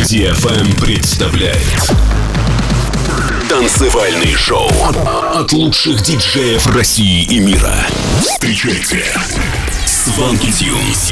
DFM представляет танцевальный шоу от лучших диджеев России и мира. Встречайте Swanky Tunes.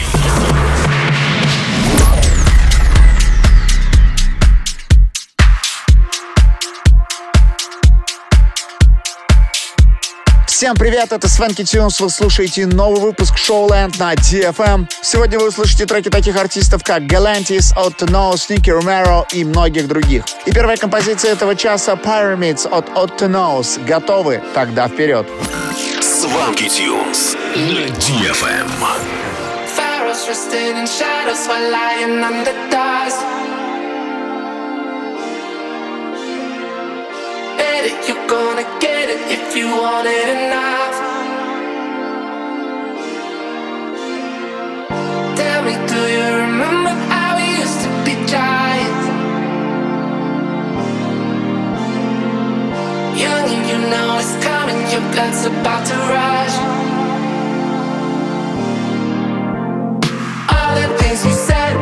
Всем привет, это Swanky Tunes, вы слушаете новый выпуск Showland на DFM. Сегодня вы услышите треки таких артистов, как Galantis, Otto Knows, Nicky Romero и многих других. И первая композиция этого часа Pyramids от Otto Knows. Готовы? Тогда вперед! Swanky Tunes на DFM. Pharaohs resting in shadows while lying under dust. You're gonna get it if you want it enough. Tell me, do you remember how we used to be giants? Young and you know it's coming, your blood's about to rush. All the things you said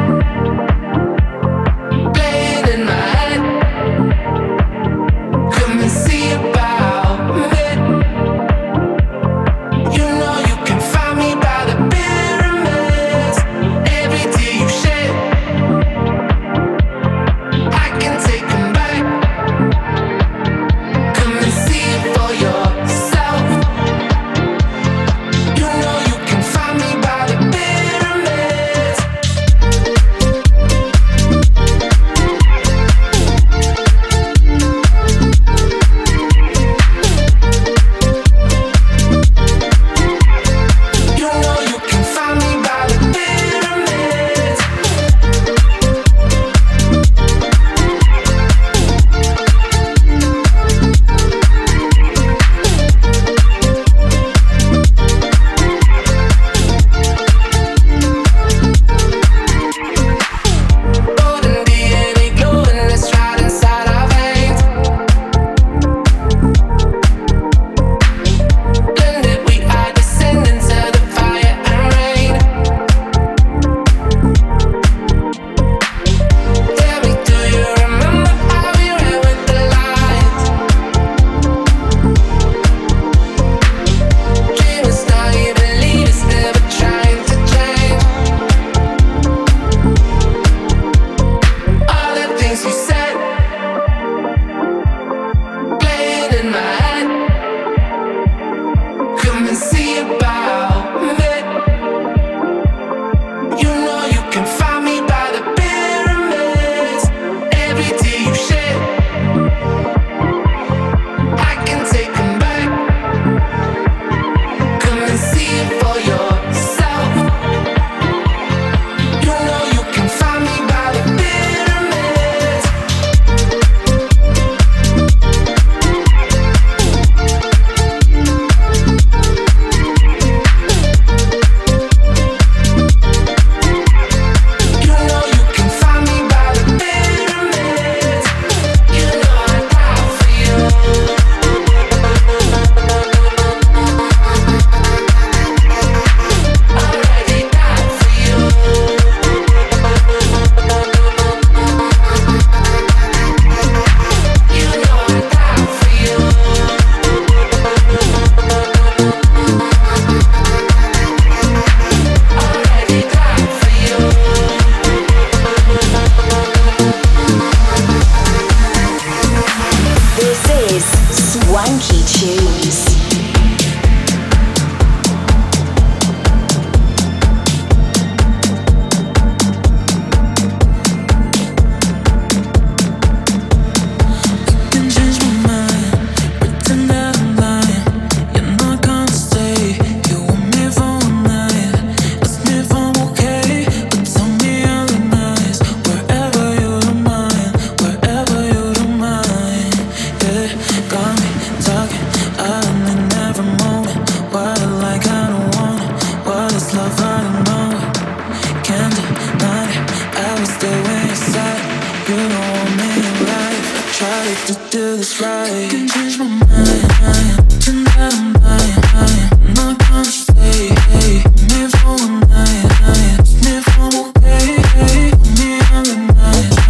playing in my head. See about it. You know you can find me by the pyramids. Every tear you shed, I can take them back. Come and see it for yourself. You know you can find me by the pyramids. Hey, me on the night.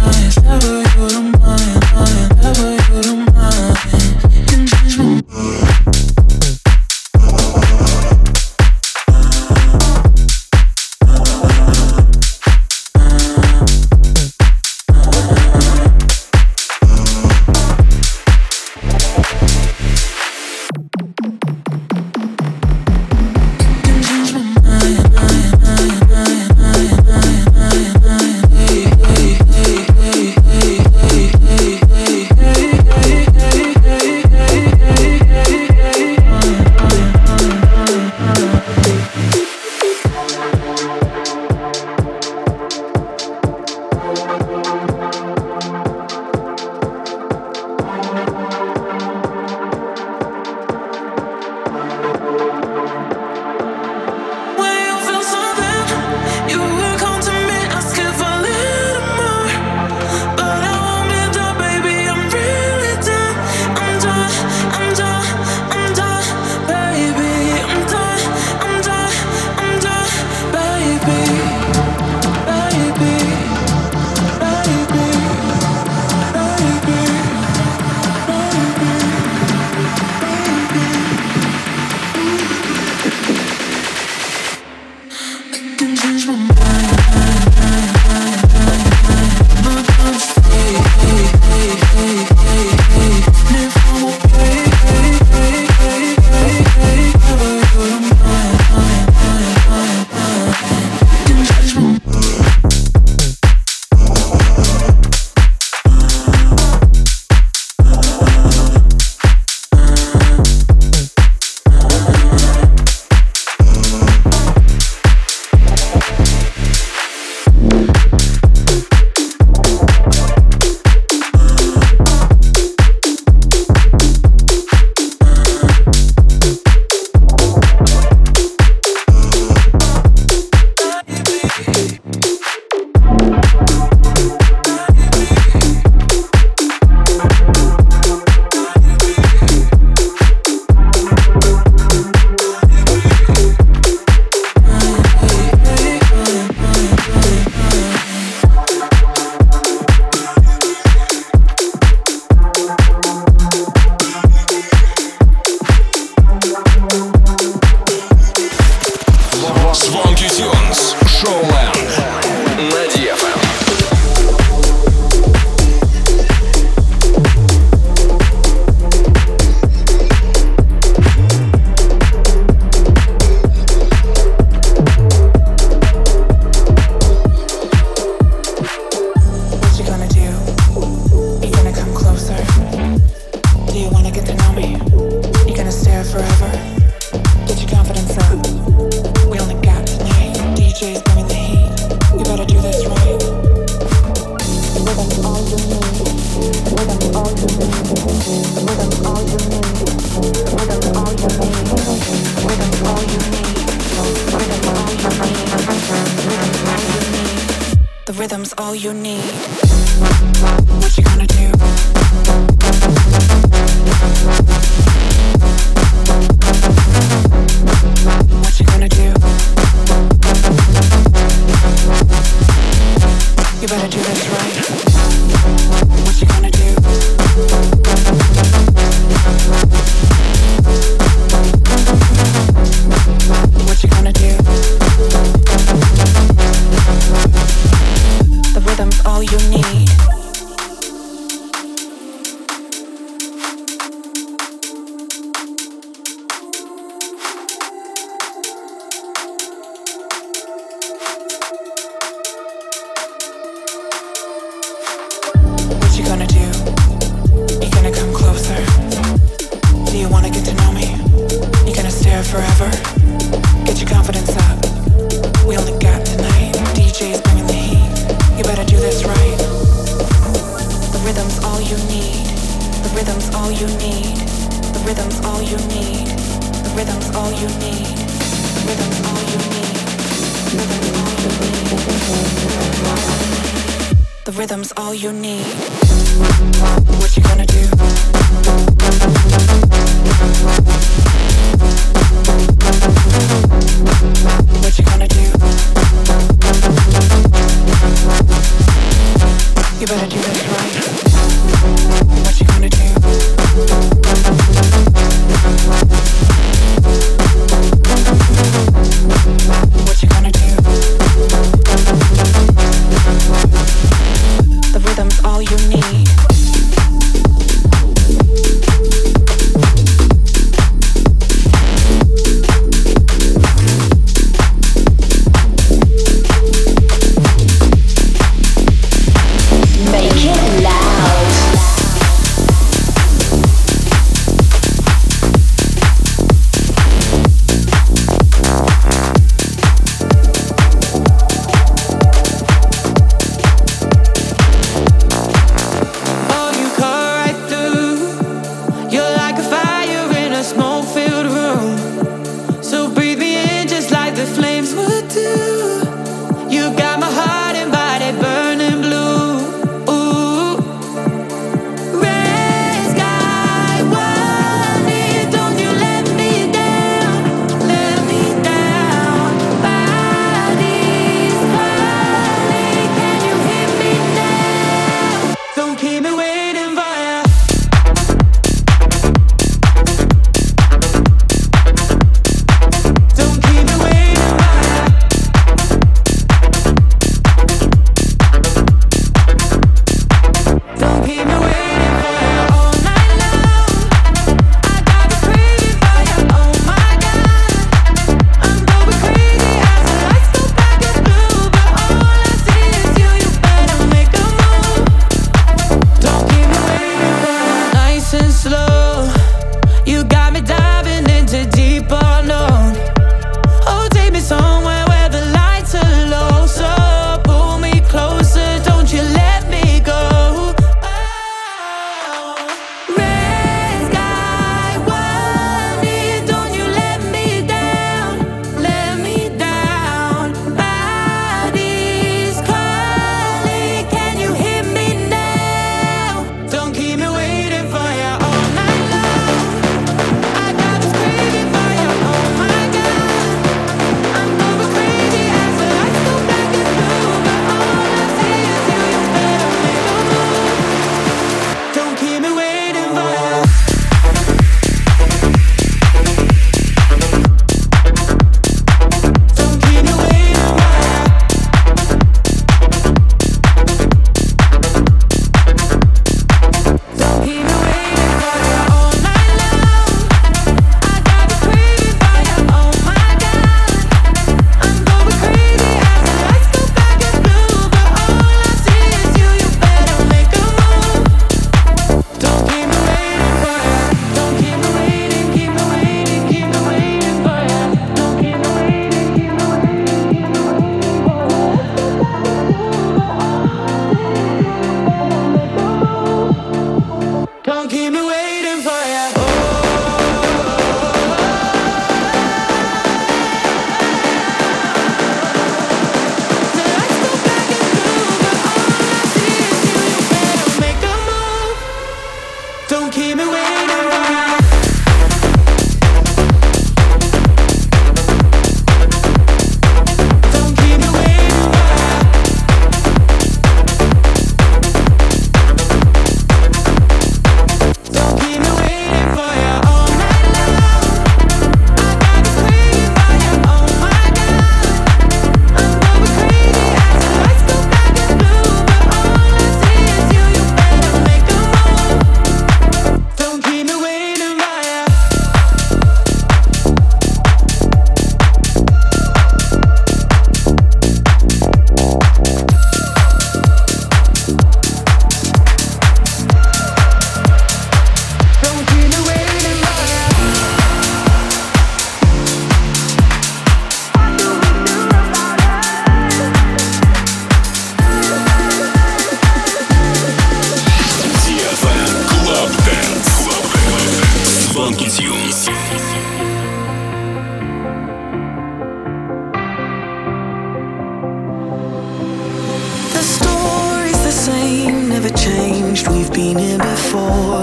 never changed, we've been here before.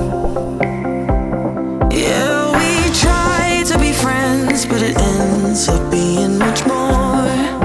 Yeah, we try to be friends, but it ends up being much more.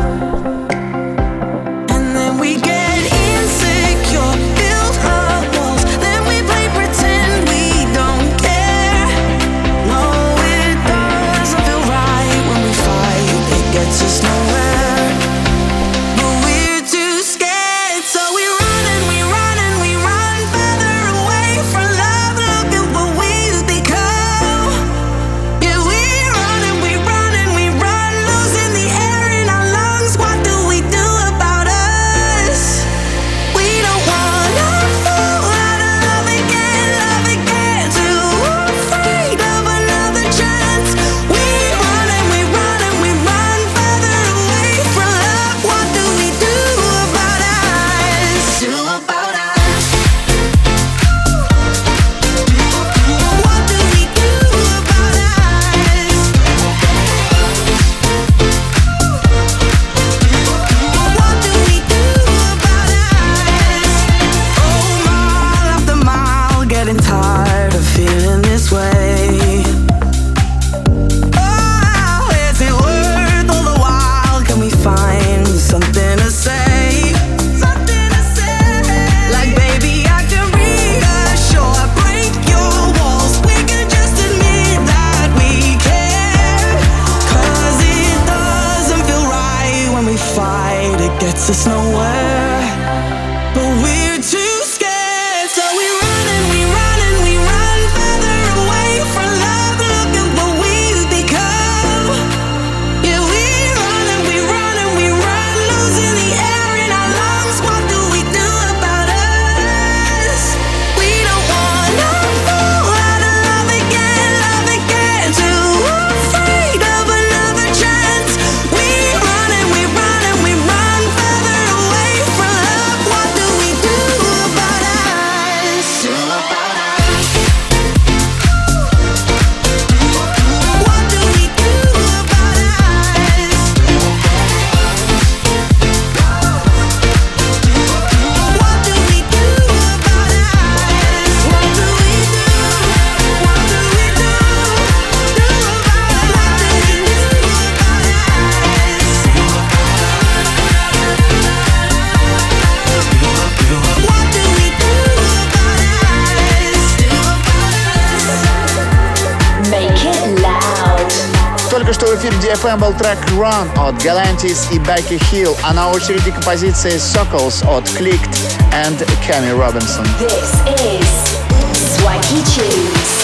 And then we get insecure, build up walls, then we play pretend we don't care. No, it doesn't feel right when we fight, it gets us nowhere. But we're too scared, so we run and we run and we run further away from love. Look at what we've become. Yeah, we run and we run and we run, losing the air in our lungs. What do we do about us? We don't wanna fall out of love again, too afraid of another chance. We run and we run and we run further away from love. What do we do about us? Do about us? What do we do about us? What do we do about us? Oh, mile after mile, getting tired of feeling this way. Oh, is it worth all the while? Can we find something to say? Something to say. Like, baby, I can reassure, break your walls. We can just admit that we care. 'Cause it doesn't feel right when we fight, it gets us nowhere. But we're too scared, so we run and we run and we run further away from love. Look at what we've become. Yeah, we run and we run and we run, losing the air in our lungs. What do we do about us? We don't wanna fall out of love again, too afraid of another chance. We run and we run and we run further away from love. What do we do about us? Do about us? What do we do about us? What do we do about us? What do we do? What do we do? Do about us? What do we do about us? What do we do about us? Make it loud. Только что в эфире DFM был трек Run от Galantis и Becky Hill, а на очереди композиция Circles от Clicked and Cammy Robinson. This is Swanky Tunes.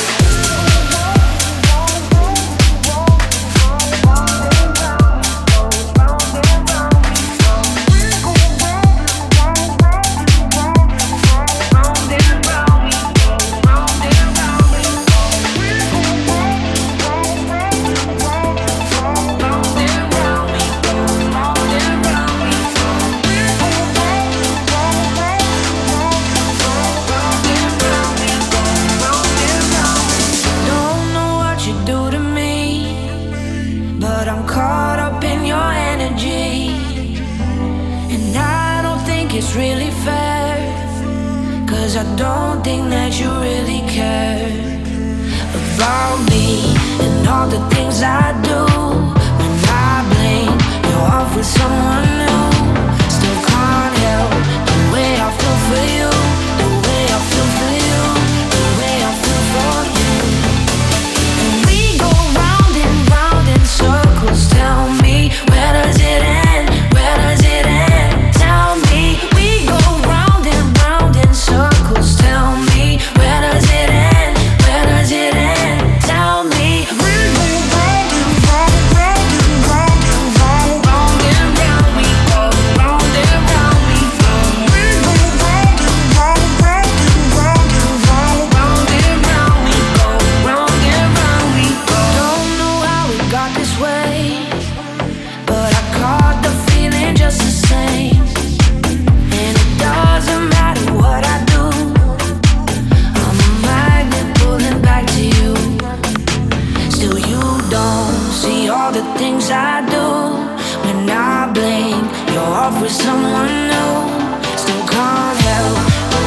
Don't know what you do to me, but I'm caught up in your energy. And I don't think it's really fair, 'cause I don't think that you really care about me and all the things I do. When I blink, you're off with someone new. Still can't help the way I feel for you, the way I feel for you, the way I feel for you. And we go round and round in circles. Tell me, where does it end? Where does it end? Tell me, we go round and round in circles. Tell me, where does it end? Where does it end? Tell me, we go round and round, round and round and round, round and round. We go round and round. We go. We go round and round, round and round and round, round and round. We go round and round. We go. Don't know how we got this way, but I caught the feeling just the same. And it doesn't matter what I do, I'm a magnet pulling back to you. Still you don't see all the things I do. When I blink, you're off with someone new. Still can't help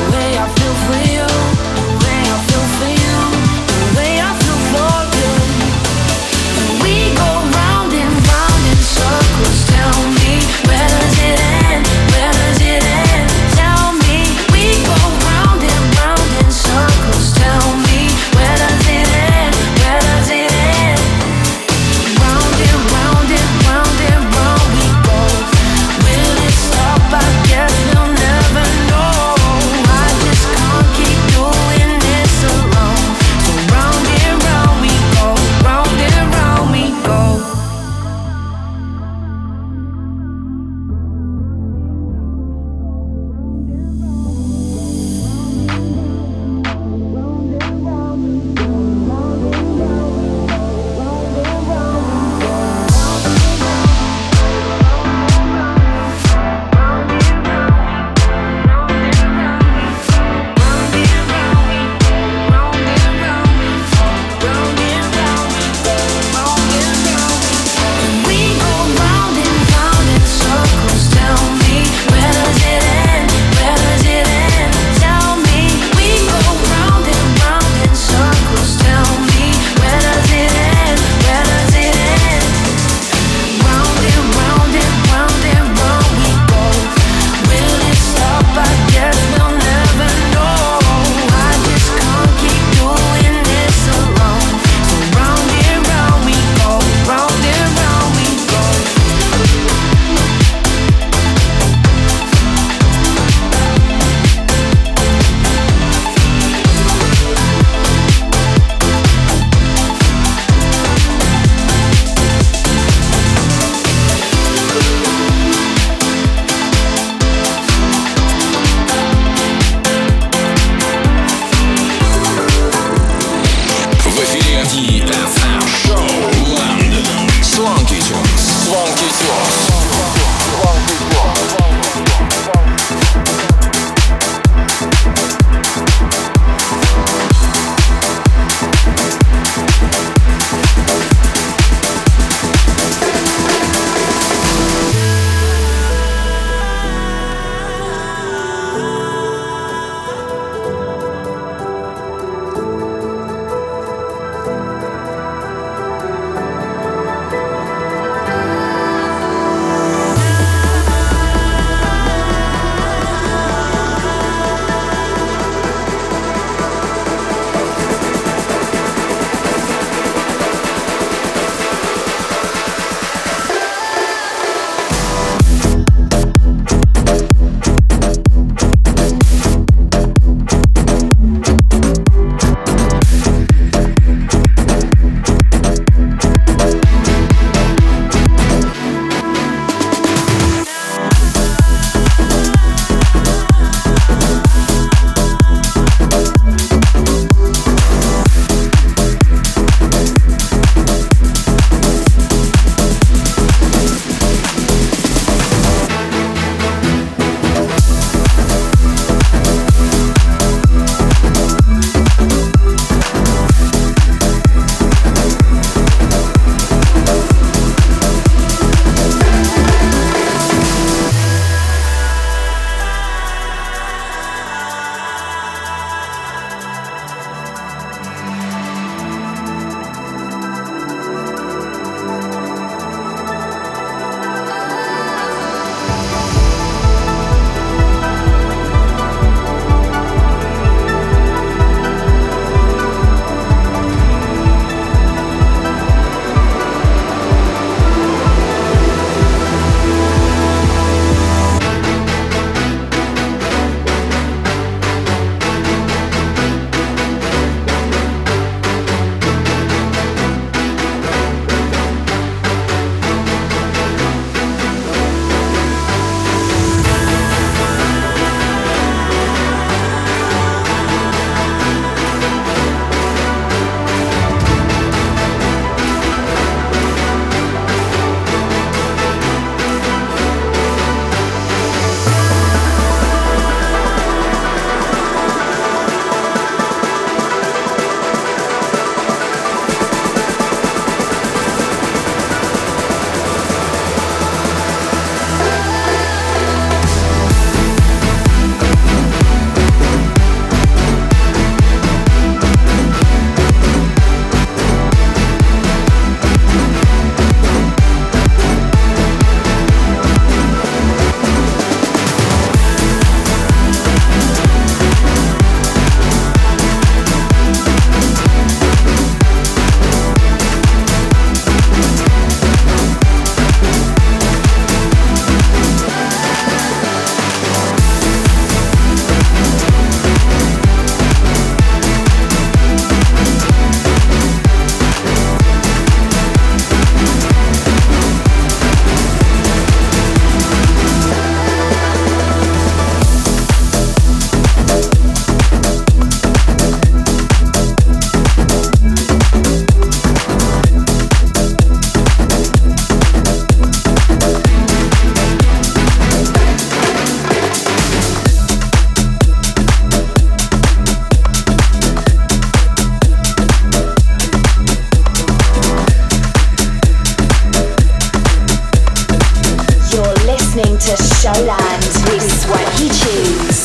Band with Swanky Tunes.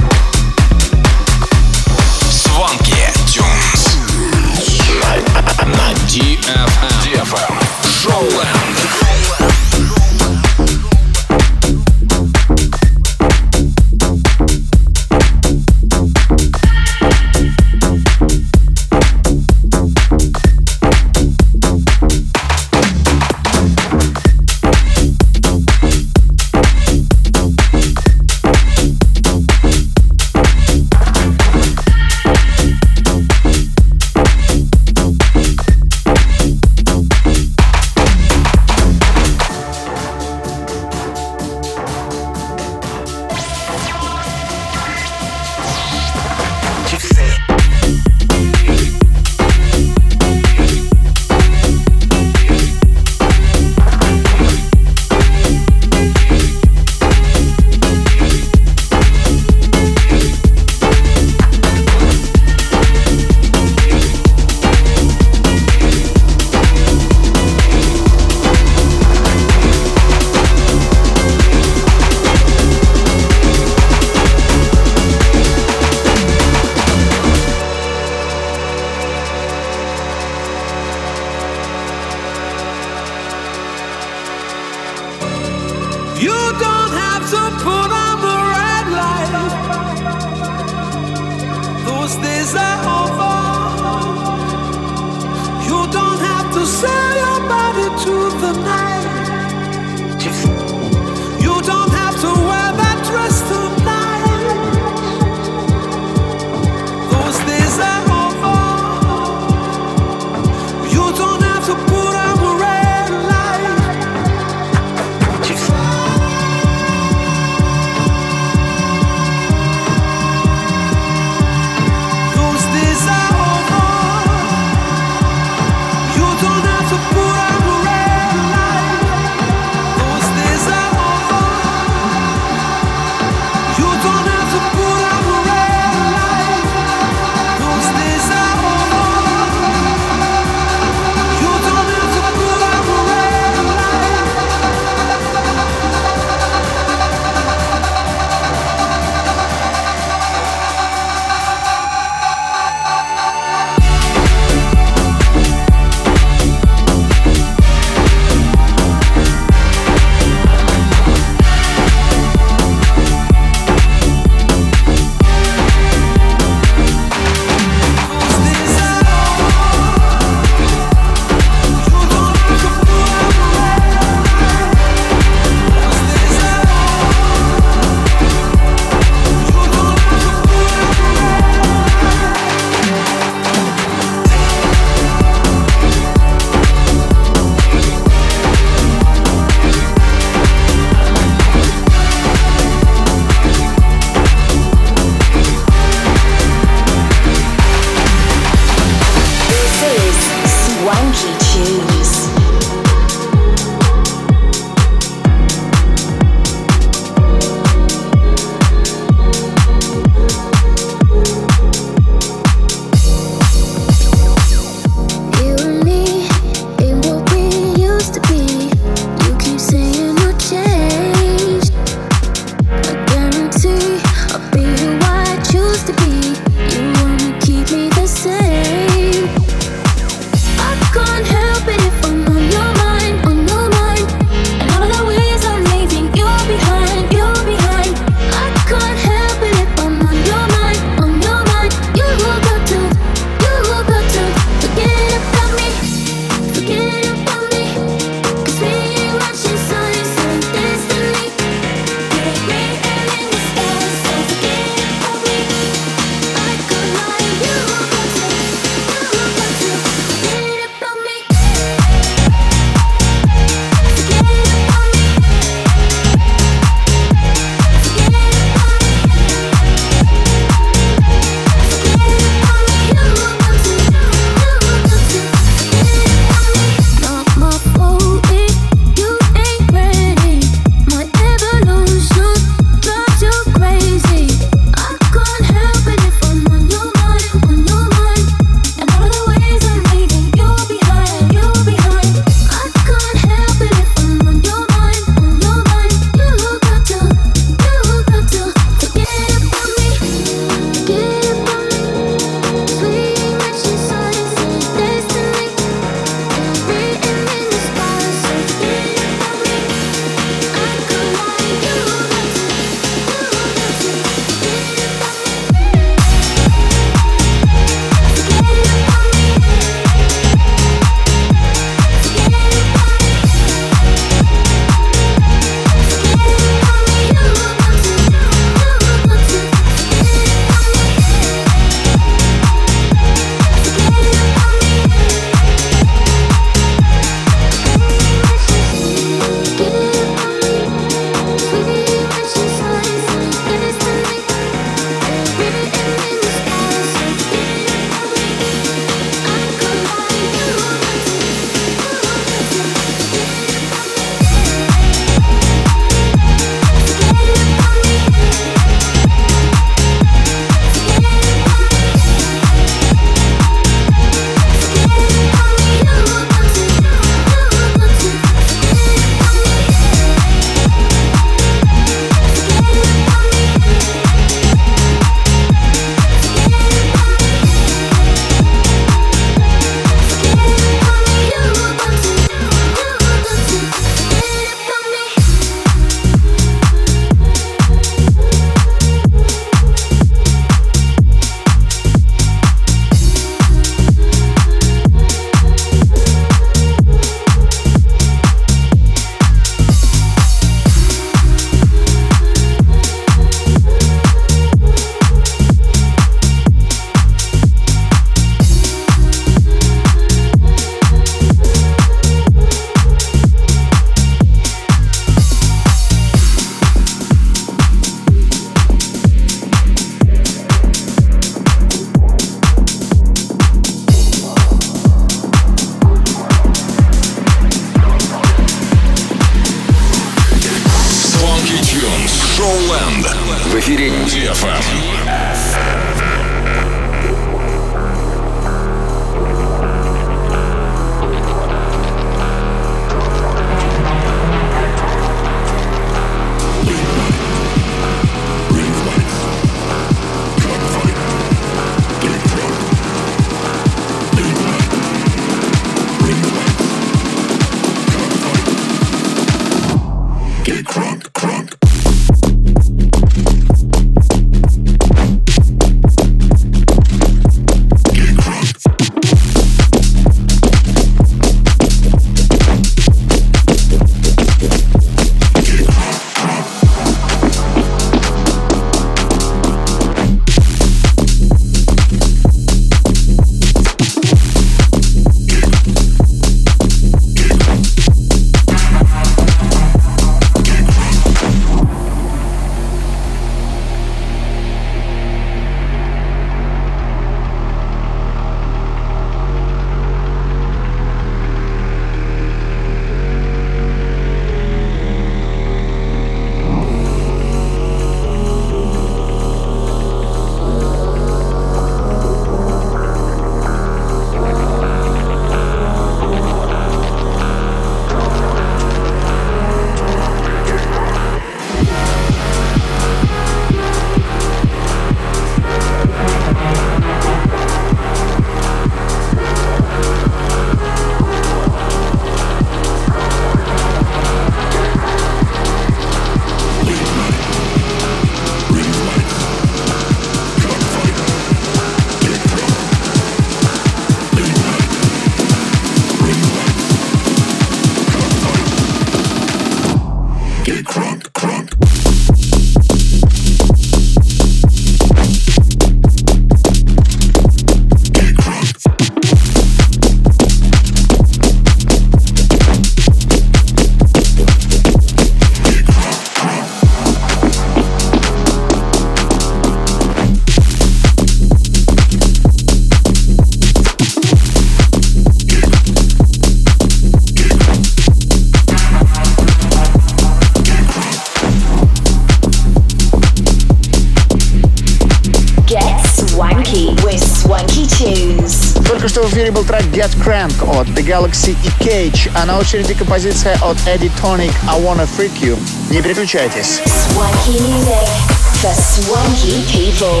Только что в эфире был трек Get Crank от The Galaxy и Cage, а на очереди композиция от Eddie Tonic I Wanna Freak You. Не переключайтесь. Swanky music for swanky people.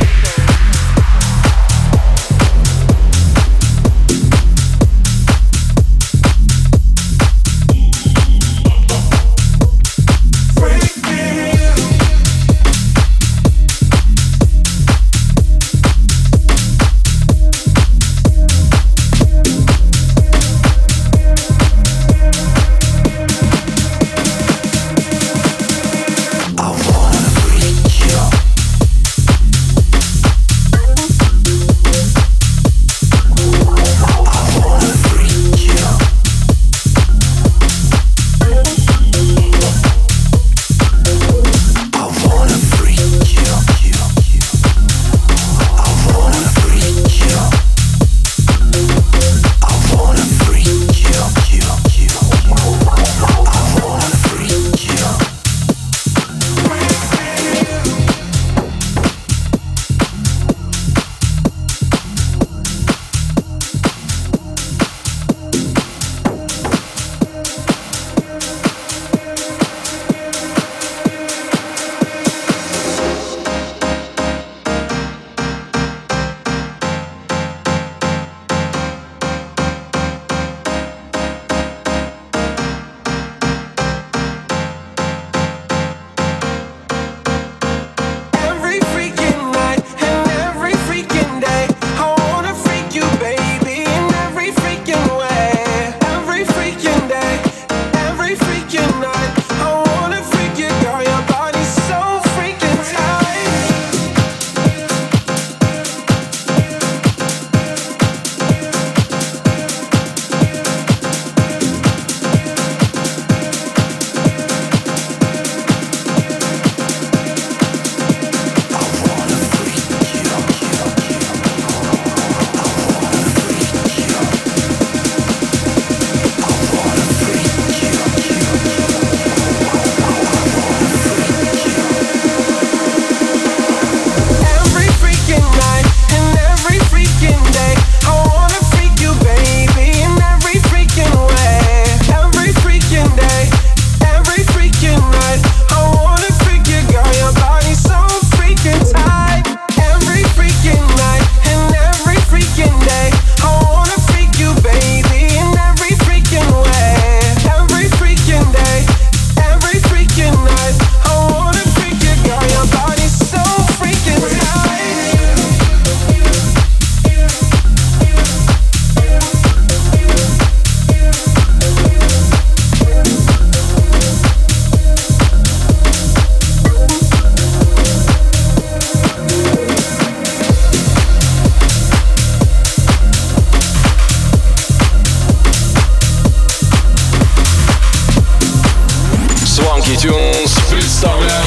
Tunes представляет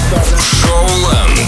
Showland.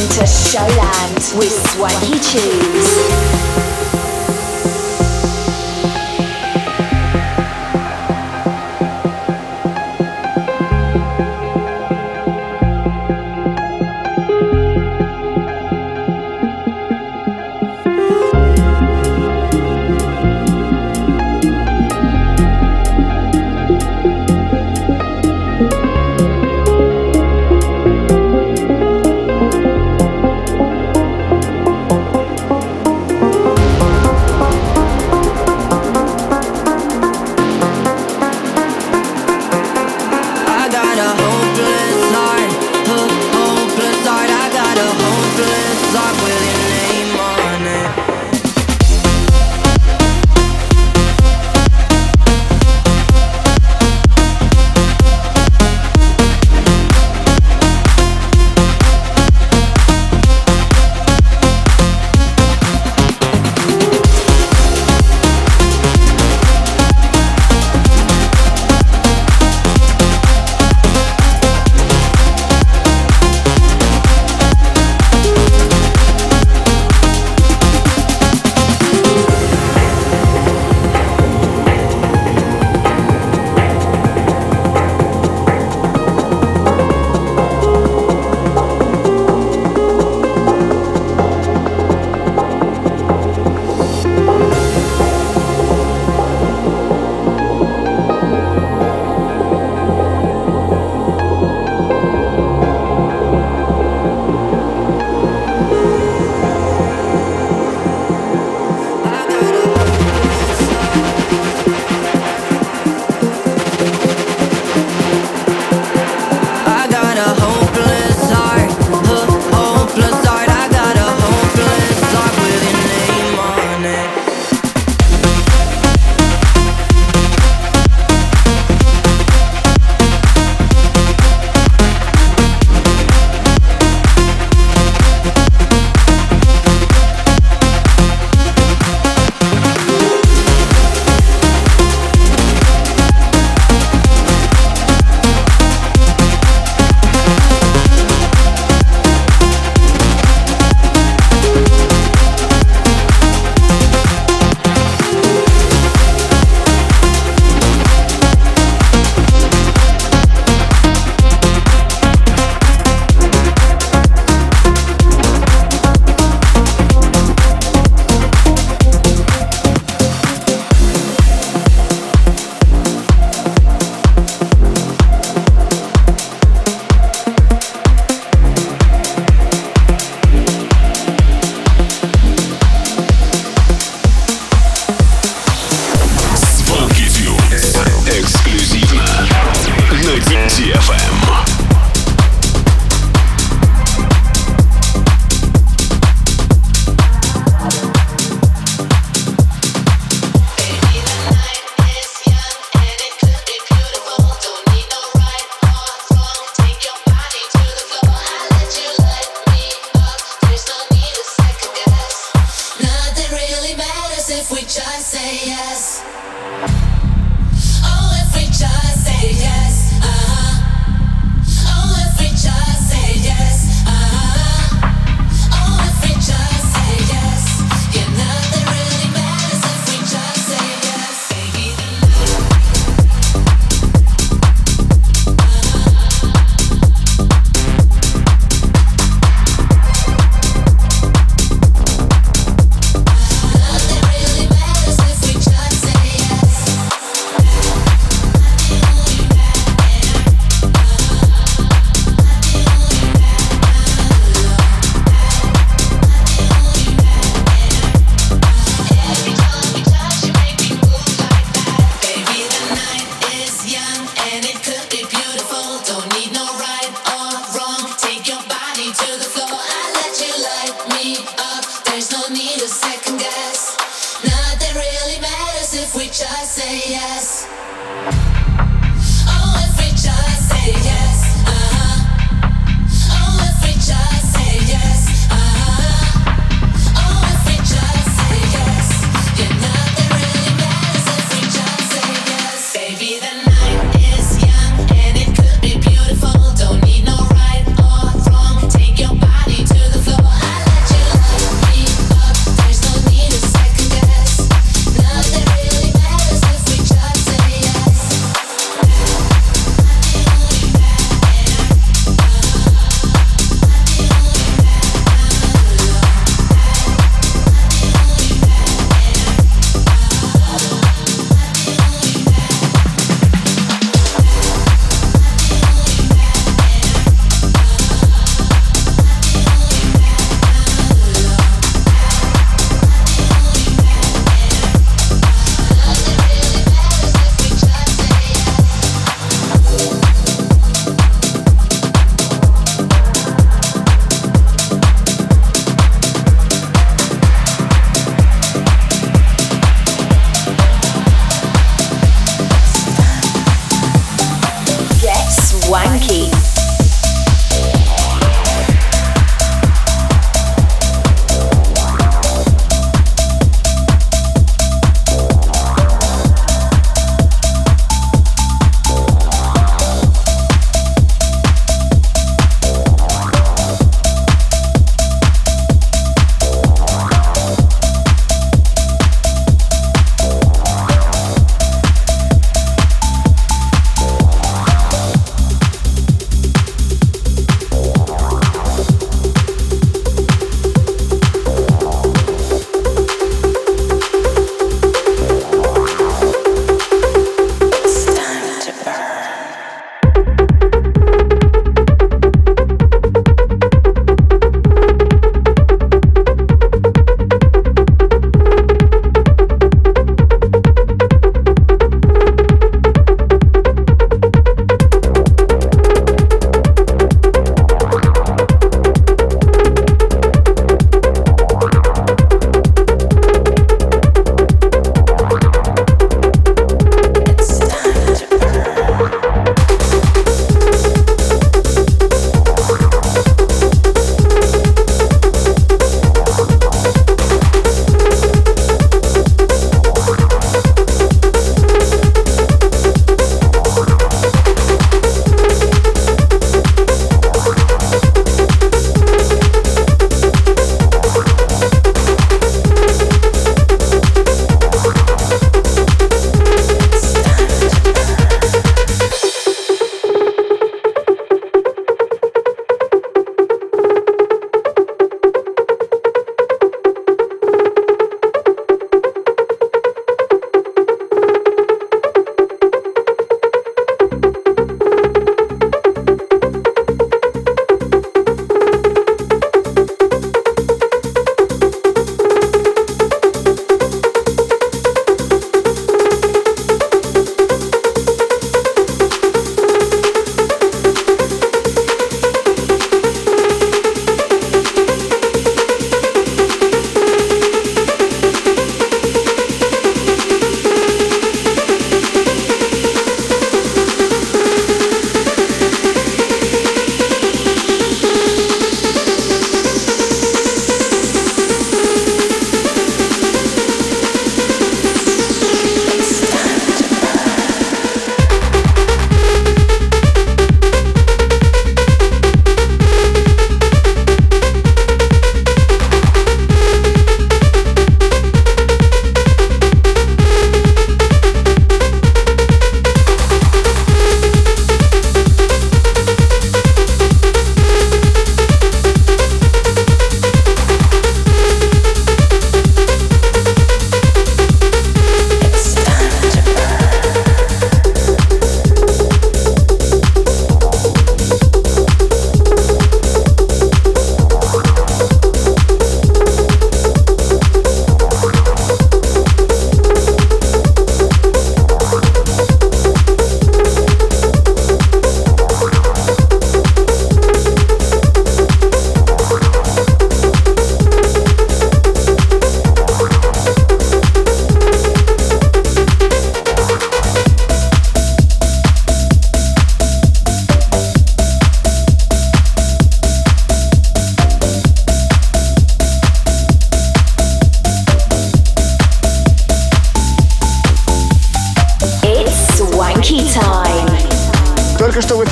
to Showland with Swanky Tunes. To the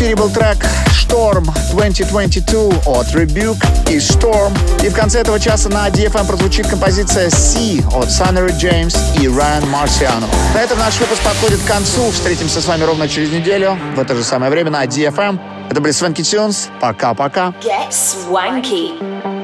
эфире был трек Storm 2022 от Rebuke и Storm. И в конце этого часа на DFM прозвучит композиция Sea от Sunnery James и Ryan Marciano. На этом наш выпуск подходит к концу. Встретимся с вами ровно через неделю в это же самое время на DFM. Это были Swanky Tunes. Пока-пока. Get swanky.